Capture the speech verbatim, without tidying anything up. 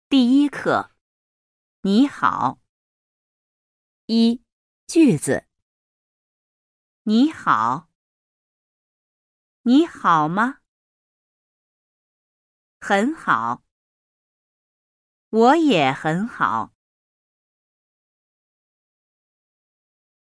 第一课，你好。一、句子。你好。你好吗？很好。我也很好。